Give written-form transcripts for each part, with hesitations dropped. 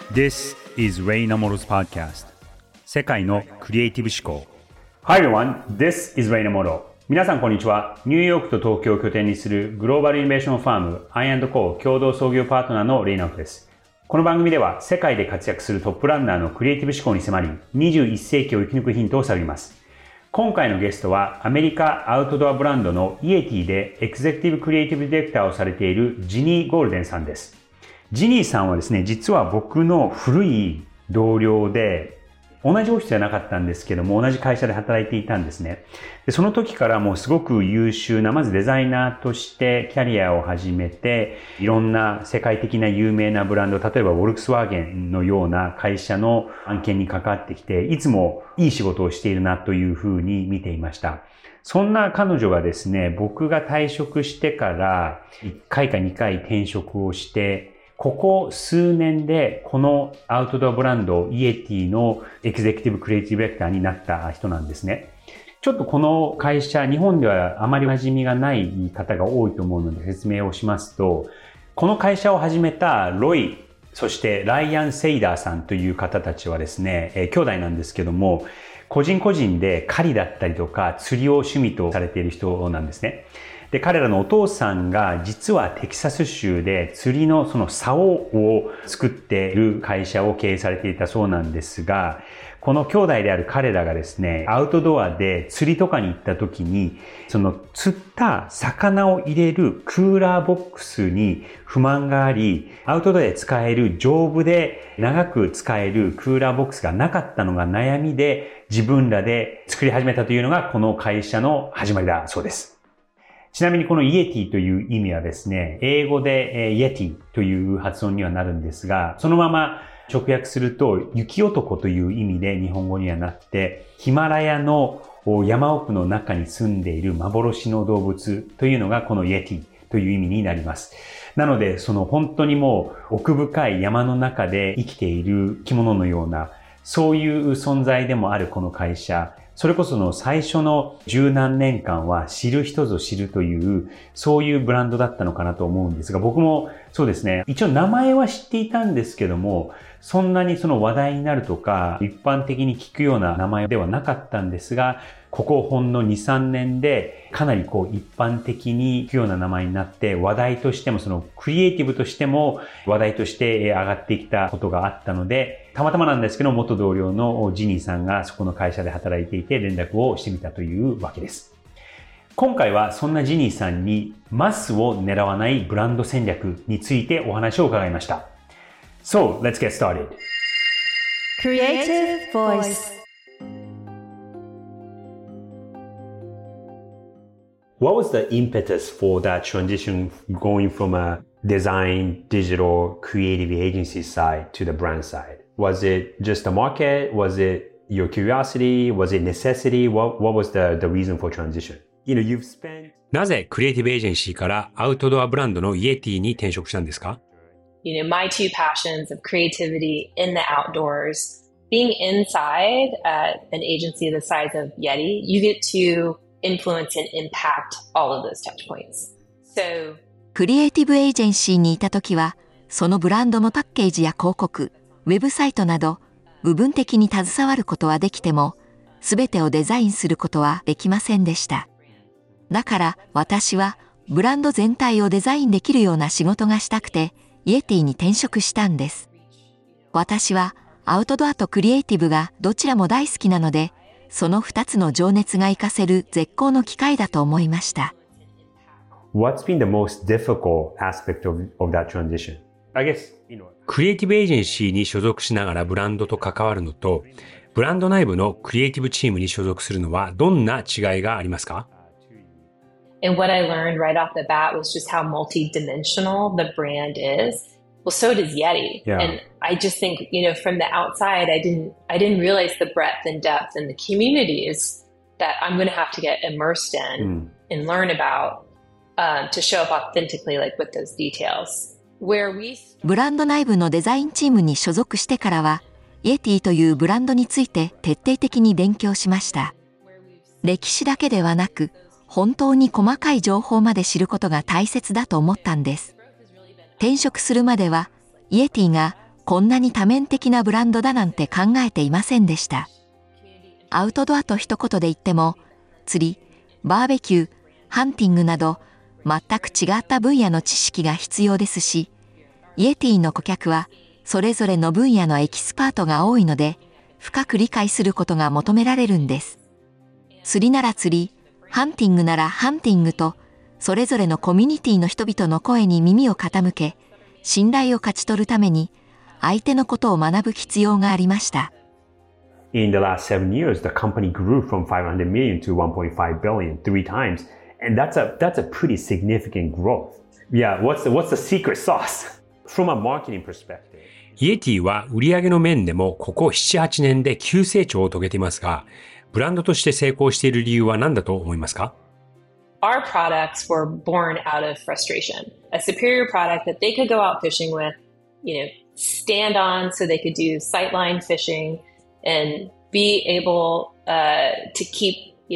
This is Ray Namoro's podcast. 世界のクリエイティブ思考。Hi everyone, this is Ray Namoro. 皆さんこんにちは。ニューヨークと東京を拠点にするグローバルイノベーションファーム I&Co 共同創業パートナーのレイナムです。この番組では世界で活躍するトップランナーのクリエイティブ思考に迫り、21世紀を生き抜くヒントを探ります。今回のゲストはアメリカアウトドアブランドのイエティでエグゼクティブクリエイティブディレクターをされているジニー・ゴールデンさんです。ジニーさんはですね、実は僕の古い同僚で、同じオフィスじゃなかったんですけども、同じ会社で働いていたんですね。で、その時からもうすごく優秀な、まずデザイナーとしてキャリアを始めて、いろんな世界的な有名なブランド、例えばウォルクスワーゲンのような会社の案件に関わってきて、いつもいい仕事をしているなというふうに見ていました。そんな彼女がですね、僕が退職してから1回か2回転職をして、ここ数年でこのアウトドアブランドイエティのエグゼクティブクリエイティブディレクターになった人なんですね。ちょっとこの会社、日本ではあまり馴染みがない方が多いと思うので説明をしますと、この会社を始めたロイ、そしてライアン・セイダーさんという方たちはですね、兄弟なんですけども、個人個人で狩りだったりとか釣りを趣味とされている人なんですね。で、彼らのお父さんが実はテキサス州で釣りのその竿を作っている会社を経営されていたそうなんですが、この兄弟である彼らがですね、アウトドアで釣りとかに行った時に、その釣った魚を入れるクーラーボックスに不満があり、アウトドアで使える丈夫で長く使えるクーラーボックスがなかったのが悩みで、自分らで作り始めたというのがこの会社の始まりだそうです。ちなみにこのイエティという意味はですね、英語でイエティという発音にはなるんですが、そのまま直訳すると雪男という意味で日本語にはなって、ヒマラヤの山奥の中に住んでいる幻の動物というのがこのイエティという意味になります。なので、その本当にもう奥深い山の中で生きている生き物のような、そういう存在でもあるこの会社、それこその最初の十何年間は知る人ぞ知るという、そういうブランドだったのかなと思うんですが、僕もそうですね、一応名前は知っていたんですけども、そんなにその話題になるとか、一般的に聞くような名前ではなかったんですが、ここほんの2、3年でかなり一般的に聞くような名前になって、話題としてもそのクリエイティブとしても話題として上がってきたことがあったので、たまたまなんですけど、元同僚のジニーさんがそこの会社で働いていて連絡をしてみたというわけです。今回はそんなジニーさんにマスを狙わないブランド戦略についてお話を伺いました。So, let's get started. Creative Voice.What was the impetus for that transition going from a design, digital, creative agency side to the brand side? Was it just the market? Was it your curiosity? Was it necessity? What was the reason for transition? You've spent... なぜクリエイティブエージェンシーからアウトドアブランドのイエティに転職したんですか？ My two passions of creativity in the outdoors, being inside at an agency the size of Yeti, you get to influence and impact all of those touch points. So, クリエイティブエージェンシーにいた時は、そのブランドのパッケージや広告、ウェブサイトなど、部分的に携わることはできても、すべてをデザインすることはできませんでした。だから私は、ブランド全体をデザインできるような仕事がしたくて、イエティに転職したんです。私は、アウトドアとクリエイティブがどちらも大好きなので、その2つの情熱が活かせる絶好の機会だと思いました。 What's been the most difficult aspect of that transition? I guess, クリエイティブエージェンシーに所属しながらブランドと関わるのと、ブランド内部のクリエイティブチームに所属するのはどんな違いがありますか？ and what I learned right off the bat was just how multi-dimensional the brand is.Well, so does Yeti. Yeah. And I just think, from the outside, I didn't realize the breadth and depth and the communities that I'm going to have to get immersed in and learn about to show up authentically, like with those details. ブランド内部のデザインチームに所属してからは、イエティというブランドについて徹底的に勉強しました。歴史だけではなく、本当に細かい情報まで知ることが大切だと思ったんです。転職するまでは、イエティがこんなに多面的なブランドだなんて考えていませんでした。アウトドアと一言で言っても、釣り、バーベキュー、ハンティングなど、全く違った分野の知識が必要ですし、イエティの顧客は、それぞれの分野のエキスパートが多いので、深く理解することが求められるんです。釣りなら釣り、ハンティングならハンティングと、それぞれのコミュニティの人々の声に耳を傾け、信頼を勝ち取るために、相手のことを学ぶ必要がありました。 In the last 7 years, the company grew from 500 million to 1.5 billion 3 times. And that's a pretty significant growth. Yeah, what's the secret sauce? From a marketing perspective. イエティは売上の面でもここ7、8年で急成長を遂げていますが、ブランドとして成功している理由は何だと思いますか？ Our products were born out of frustration. A superior product that they could go out fishing with, stand on so they could do sightline fishing and be able to keep,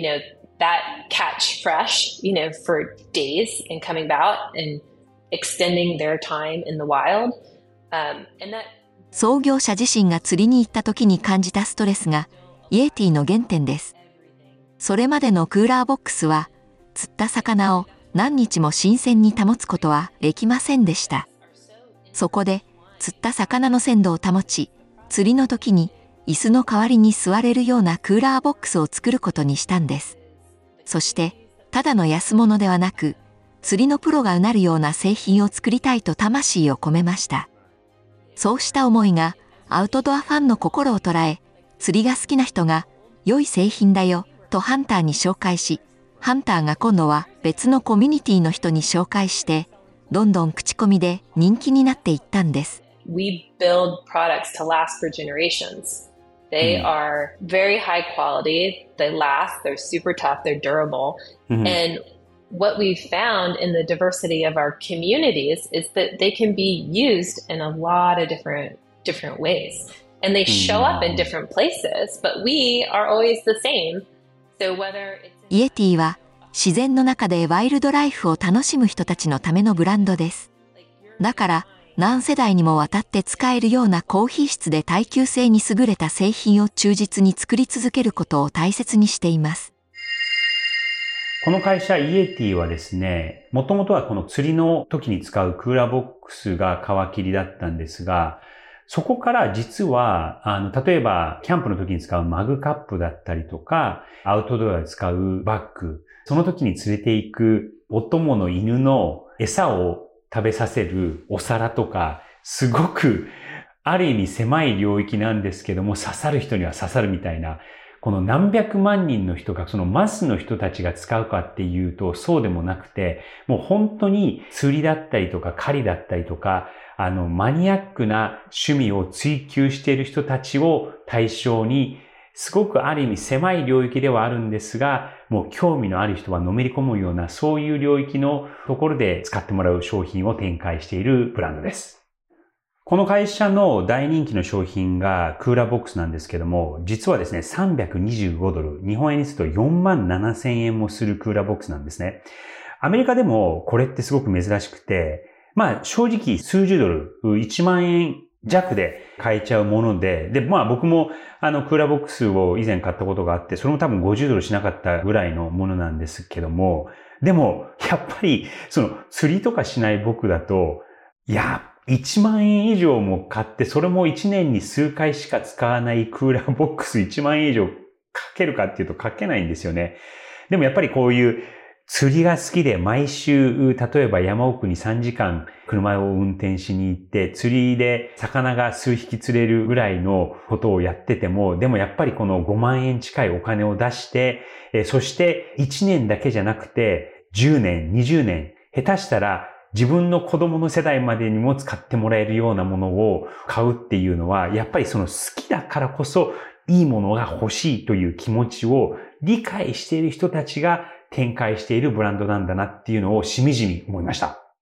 that catch fresh, for days and coming out and extending their time in the wild. And that 創業者自身が釣りに行った時に感じたストレスがイエティの原点です。それまでのクーラーボックスは釣った魚を何日も新鮮に保つことはできませんでした。そこで釣った魚の鮮度を保ち、釣りの時に椅子の代わりに座れるようなクーラーボックスを作ることにしたんです。そしてただの安物ではなく、釣りのプロがうなるような製品を作りたいと魂を込めました。そうした思いがアウトドアファンの心を捉え、釣りが好きな人が良い製品だよとハンターに紹介し、ハンターが今度は別のコミュニティの人に紹介して、どんどん口コミで人気になっていったんです。 We build products to last for generations. They are very high quality, they last, they're super tough, they're durable. And what we've found in the diversity of our communities is that they can be used in a lot of different ways. And they show up in different places, but we are always the same. So whether it's イエティは自然の中でワイルドライフを楽しむ人たちのためのブランドです。だから何世代にもわたって使えるような高品質で耐久性に優れた製品を忠実に作り続けることを大切にしています。 この会社イエティはですね、もともとはこの釣りの時に使うクーラーボックスが皮切りだったんですが、そこから実は、例えばキャンプの時に使うマグカップだったりとか、アウトドアで使うバッグ、その時に連れて行くお供の犬の餌を食べさせるお皿とか、すごくある意味狭い領域なんですけども、刺さる人には刺さるみたいな、この何百万人の人が、そのマスの人たちが使うかっていうとそうでもなくて、もう本当に釣りだったりとか狩りだったりとか、マニアックな趣味を追求している人たちを対象に、すごくある意味狭い領域ではあるんですが、もう興味のある人はのめり込むような、そういう領域のところで使ってもらう商品を展開しているブランドです。この会社の大人気の商品がクーラーボックスなんですけども、実はですね、$325、日本円にすると47,000円もするクーラーボックスなんですね。アメリカでもこれってすごく珍しくて、正直数十ドル、1万円弱で買えちゃうもので、僕もクーラーボックスを以前買ったことがあって、それも多分50ドルしなかったぐらいのものなんですけども、でもやっぱり釣りとかしない僕だと、1万円以上も買って、それも1年に数回しか使わないクーラーボックス1万円以上かけるかっていうとかけないんですよね。でもやっぱりこういう釣りが好きで毎週、例えば山奥に3時間車を運転しに行って、釣りで魚が数匹釣れるぐらいのことをやってても、でもやっぱりこの5万円近いお金を出して、そして1年だけじゃなくて10年、20年、下手したら自分の子供の世代までにも使ってもらえるようなものを買うっていうのは、やっぱり好きだからこそいいものが欲しいという気持ちを理解している人たちが展開しているブランドなんだなっていうのをしみじみ思いました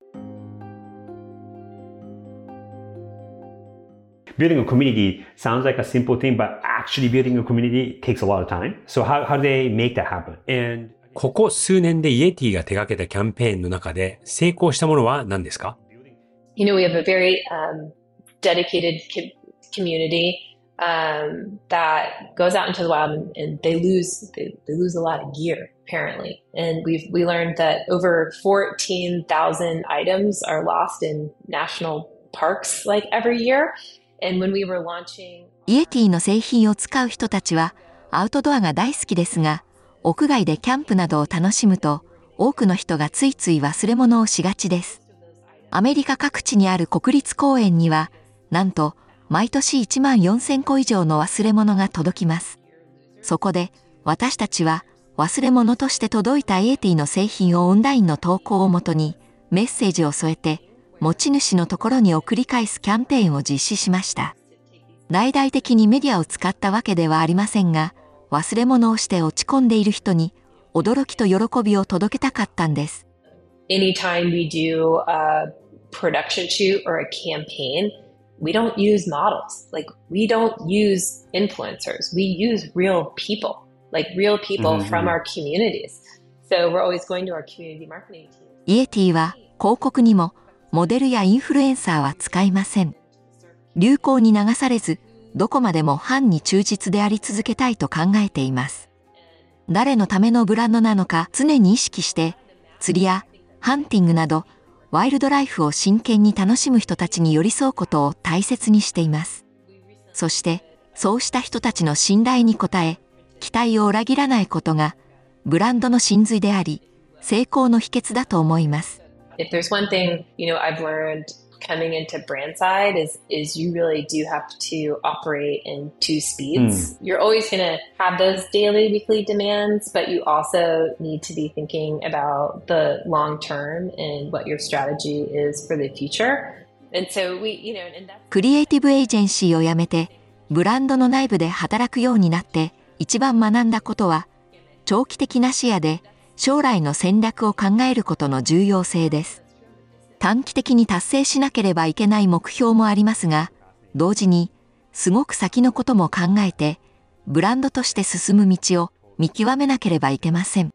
。Building a community sounds like a simple thing, but actually building a community takes a lot of time. So how do they make that happen? And ここ数年でイエティが手掛けたキャンペーンの中で成功したものは何ですか？ We have a very dedicated community that goes out into the wild and they lose a lot of gear apparently. And we learned that over 14,000 items are lost in national parks like every year. And when we were launching イエティの製品を使う人たちはアウトドアが大好きですが、屋外でキャンプなどを楽しむと多くの人がついつい忘れ物をしがちです。アメリカ各地にある国立公園にはなんと毎年14,000個以上の忘れ物が届きます。そこで私たちは忘れ物として届いたイエティの製品をオンラインの投稿をもとにメッセージを添えて持ち主のところに送り返すキャンペーンを実施しました。大々的にメディアを使ったわけではありませんが、忘れ物をして落ち込んでいる人に驚きと喜びを届けたかったんです。 Anytime we do a production shoot or a campaign, we don't use models. Like, we don't use influencers. We use real people, like real people from our communities. So we're always going to our community marketing team. イエティは広告にもモデルやインフルエンサーは使いません。流行に流されず、どこまでもファンに忠実であり続けたいと考えています。誰のためのブランドなのか常に意識して、釣りやハンティングなど、ワイルドライフを真剣に楽しむ人たちに寄り添うことを大切にしています。そして、そうした人たちの信頼に応え、期待を裏切らないことが、ブランドの真髄であり、成功の秘訣だと思います。 If there's one thing, I've learned coming into brand side is you really do have to operate in two speeds. You're always going to have those daily, weekly demands, but you also need to be thinking about the long term and what your strategy is for the future. And so and that's... クリエイティブエージェンシーを辞めて、ブランドの内部で働くようになって一番学んだことは、長期的な視野で将来の戦略を考えることの重要性です。短期的に達成しなければいけない目標もありますが、同時にすごく先のことも考えて、ブランドとして進む道を見極めなければいけません。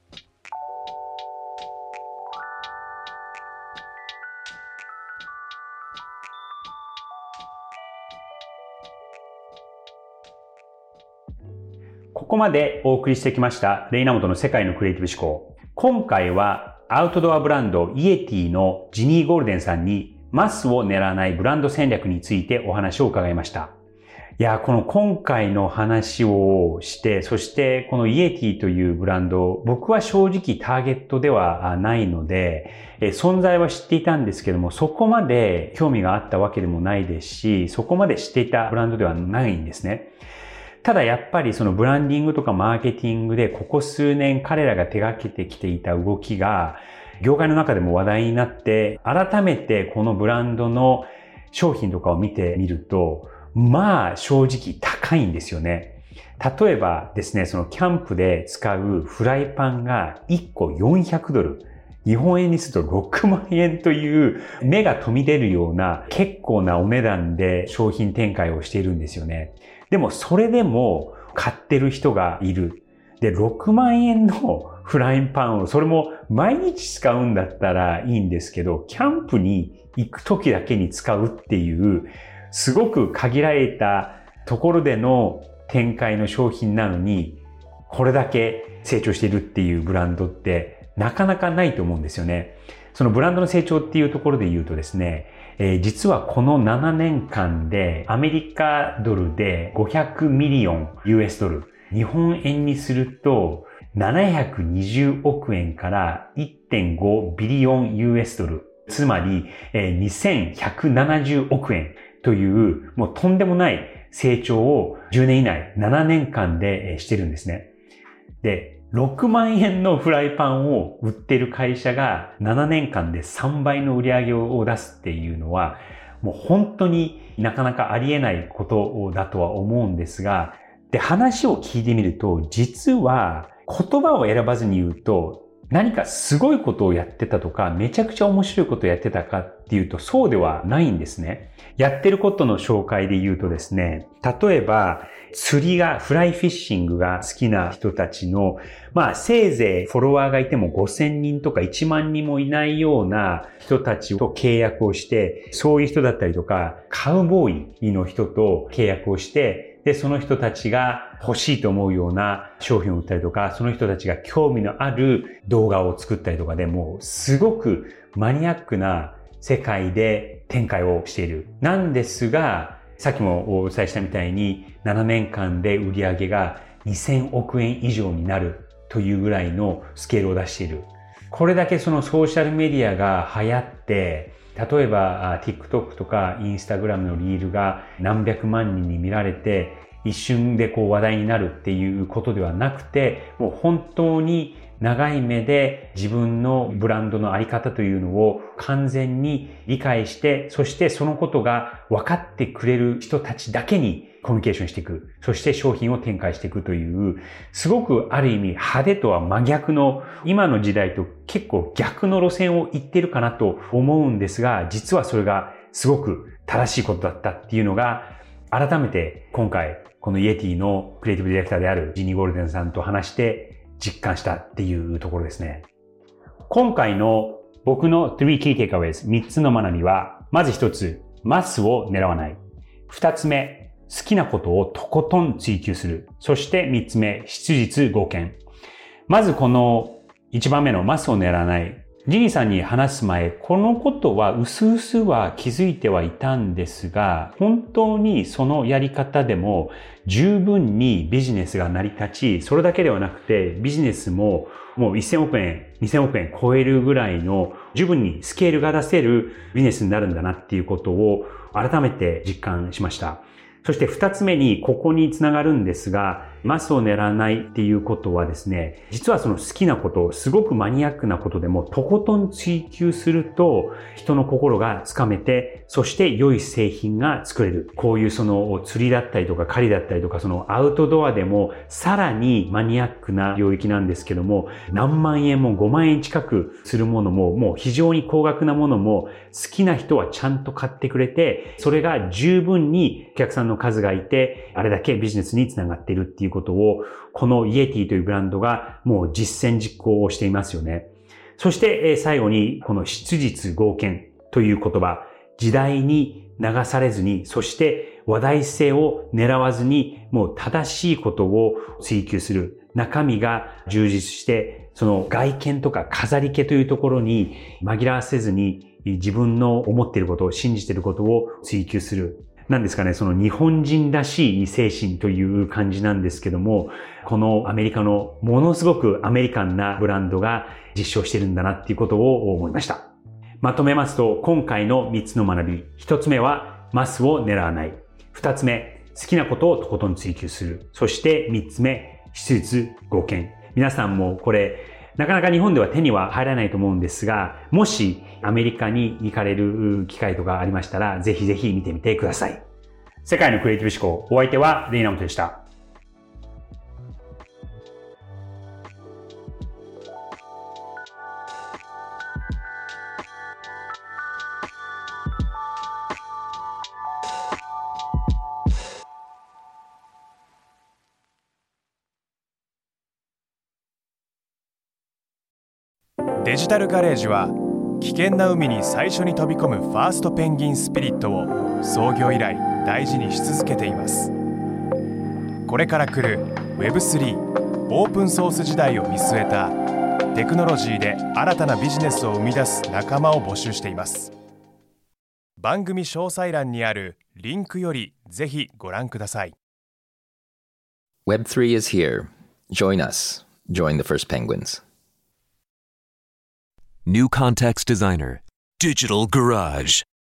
ここまでお送りしてきましたレイナモトの世界のクリエイティブ思考。今回はアウトドアブランドイエティのジニー・ゴールデンさんにマスを狙わないブランド戦略についてお話を伺いました。いや、この今回の話をして、そしてこのイエティというブランド、僕は正直ターゲットではないので、存在は知っていたんですけども、そこまで興味があったわけでもないですし、そこまで知っていたブランドではないんですね。ただやっぱりそのブランディングとかマーケティングでここ数年彼らが手掛けてきていた動きが業界の中でも話題になって、改めてこのブランドの商品とかを見てみると、まあ正直高いんですよね。例えばですね、そのキャンプで使うフライパンが1個$400。日本円にすると6万円という目が飛び出るような結構なお値段で商品展開をしているんですよね。でもそれでも買ってる人がいる。で、6万円のフライパンを、それも毎日使うんだったらいいんですけど、キャンプに行く時だけに使うっていう、すごく限られたところでの展開の商品なのに、これだけ成長しているっていうブランドってなかなかないと思うんですよね。そのブランドの成長っていうところで言うとですね、実はこの7年間でアメリカドルで500ミリオン US ドル、日本円にすると720億円から 1.5 ビリオン US ドル、つまり2170億円というもうとんでもない成長を10年以内、7年間でしてるんですね。で、6万円のフライパンを売っている会社が7年間で3倍の売り上げを出すっていうのは、もう本当になかなかありえないことだとは思うんですが、で、話を聞いてみると、実は言葉を選ばずに言うと、 何かすごいことをやってたとか、めちゃくちゃ面白いことをやってたかっていうと、そうではないんですね。やってることの紹介で言うとですね、例えば、釣りが、フライフィッシングが好きな人たちの、せいぜいフォロワーがいても5000人とか1万人もいないような人たちと契約をして、そういう人だったりとか、カウボーイの人と契約をして、で、その人たちが欲しいと思うような商品を売ったりとか、その人たちが興味のある動画を作ったりとかでもうすごくマニアックな世界で展開をしている。なんですが、さっきもお伝えしたみたいに7年間で売り上げが2000億円以上になるというぐらいのスケールを出している。これだけそのソーシャルメディアが流行って、例えば TikTok とか Instagram のリールが何百万人に見られて一瞬で話題になるっていうことではなくて、もう本当に長い目で自分のブランドのあり方というのを完全に理解して、そしてそのことが分かってくれる人たちだけにコミュニケーションしていく。そして商品を展開していくという、すごくある意味派手とは真逆の、今の時代と結構逆の路線を行っているかなと思うんですが、実はそれがすごく正しいことだったっていうのが、改めて今回このイエティのクリエイティブディレクターであるジニー・ゴールデンさんと話して実感したっていうところですね。今回の僕の3 key takeaways、3つの学びは、まず1つ、マスを狙わない。2つ目、好きなことをとことん追求する。そして3つ目、質実剛健。まずこの1番目のマスを狙わない。ジニーさんに話す前、このことは薄々は気づいてはいたんですが、本当にそのやり方でも十分にビジネスが成り立ち、それだけではなくてビジネスももう1000億円、2000億円超えるぐらいの十分にスケールが出せるビジネスになるんだなっていうことを改めて実感しました。そして2つ目にここにつながるんですが、マスを狙わないっていうことはですね、実はその好きなこと、すごくマニアックなことでもとことん追求すると人の心がつかめて、そして良い製品が作れる。こういうその釣りだったりとか狩りだったりとか、そのアウトドアでもさらにマニアックな領域なんですけども、何万円も5万円近くするものも、もう非常に高額なものも好きな人はちゃんと買ってくれて、それが十分にお客さんの数がいて、あれだけビジネスにつながっているっていうことを、このイエティというブランドがもう実践実行をしていますよね。そして最後にこの質実剛健という言葉、時代に流されずに、そして話題性を狙わずに、もう正しいことを追求する。中身が充実して、その外見とか飾り気というところに紛らわせずに、自分の思っていることを信じていることを追求する。なんですかね、その日本人らしい精神という感じなんですけども、このアメリカのものすごくアメリカンなブランドが実証してるんだなっていうことを思いました。まとめますと、今回の3つの学び。1つ目はマスを狙わない。2つ目、好きなことをとことん追求する。そして3つ目、質実剛健。皆さんもこれ、なかなか日本では手には入らないと思うんですが、もしアメリカに行かれる機会とかありましたら、ぜひぜひ見てみてください。世界のクリエイティブ思考、お相手はレイナモトでした。 デジタルガレージは危険な海に最初に飛び込むファーストペンギンスピリットを創業以来大事にし続けています。これから来る Web3 オープンソース時代を見据えたテクノロジーで新たなビジネスを生み出す仲間を募集しています。番組詳細欄にあるリンクよりぜひご覧ください。 Web3 is here. Join us. Join the first penguins. New Context Designer, Digital Garage.